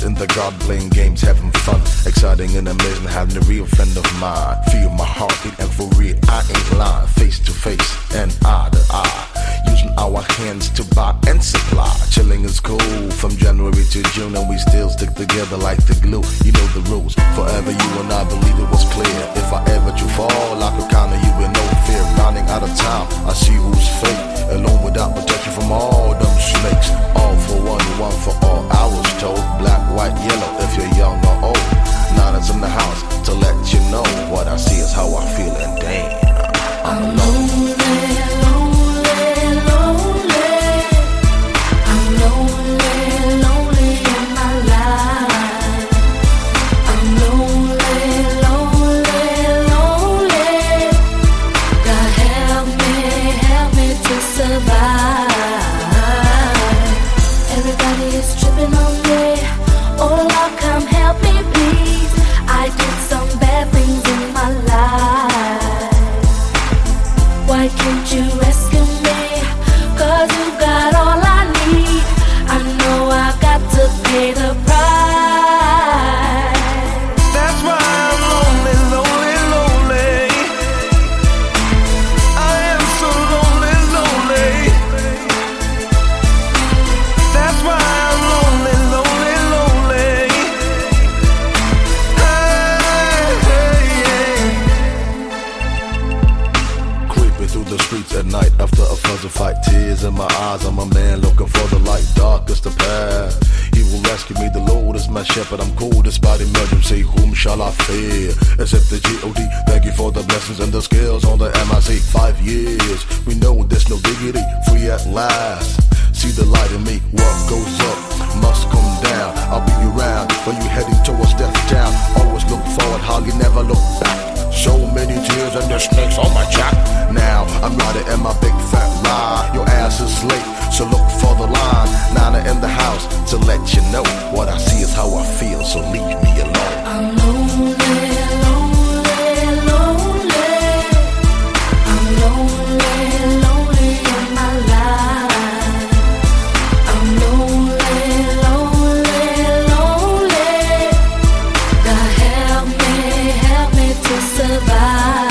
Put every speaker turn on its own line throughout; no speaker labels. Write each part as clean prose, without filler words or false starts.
Kids in the garden playing games, having fun. Exciting and amazing, having a real friend of mine. Feel my heartbeat and for real, I ain't lying. Face to face and eye to eye. Using our hands to buy and supply. Chilling is cool from January to June, and we still stick together like the glue. You know the rules. Forever you and I believe it was clear. If I ever do fall, I could count on you with no fear. Running out of time, I see who's fake. Alone without protection from all them snakes. All for one, one for all. I was told black, white, yellow. If you're young or old, Nana's in the house to let you know what I see is how I feel, and damn, I'm alone. At night after a fuzzy fight, tears in my eyes. I'm a man looking for the light, darkest the path. He will rescue me, the Lord is my shepherd. I'm cool despite emergency. Whom shall I fear? Except the G.O.D. Thank you for the blessings and the skills on the MIC. 5 years, we know there's no diggity. Free at last. See the light in me. What goes up must come down. I'll be around when you're heading towards death town. Always look forward, hardly never look back. So many tears and the snakes on my jack. Now I'm riding in my big fat ride. Your ass is late, so look for the line. Nana in the house to let you know what I see is how I feel. So leave me alone.
I'm lonely, lonely, lonely. I'm lonely, lonely in my life. I'm lonely, lonely, lonely. God help me to survive.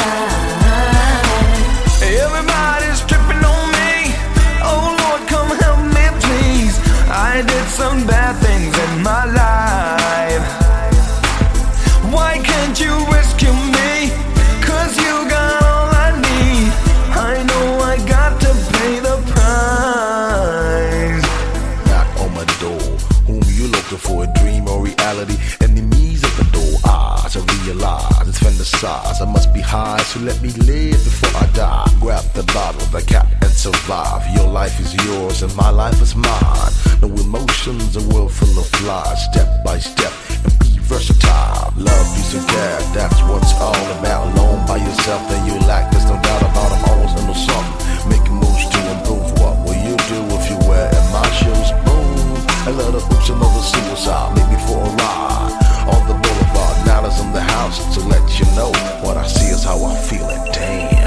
Everybody's tripping on me. Oh Lord, come help me please. I did some bad things in my life. Why can't you rescue me? 'Cause you got all I need. I know I got to pay the price.
Knock on my door. Whom you looking for? A dream or reality? Enemies at the door. To realize it's fantasize. I must be high, so let me live before I die. Grab the bottle, the cap, and survive. Your life is yours and my life is mine. No emotions, a world full of lies. Step by step and be versatile. Love, peace, and care, that's what's all about. Alone by yourself, then you lack. There's no doubt about it. I'm always into something. Making moves to improve. What will you do if you wear in my shoes? Boom. A lot of oops, another suicide. Maybe for a ride on the boulevard. Nana's in the house to let you know what I see is how I feel, and damn.